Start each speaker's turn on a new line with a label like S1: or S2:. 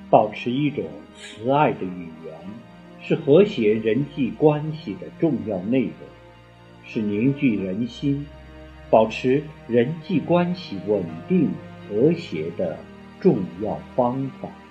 S1: 保持一种慈爱的语言，是和谐人际关系的重要内容，是凝聚人心、保持人际关系稳定和谐的重要方法。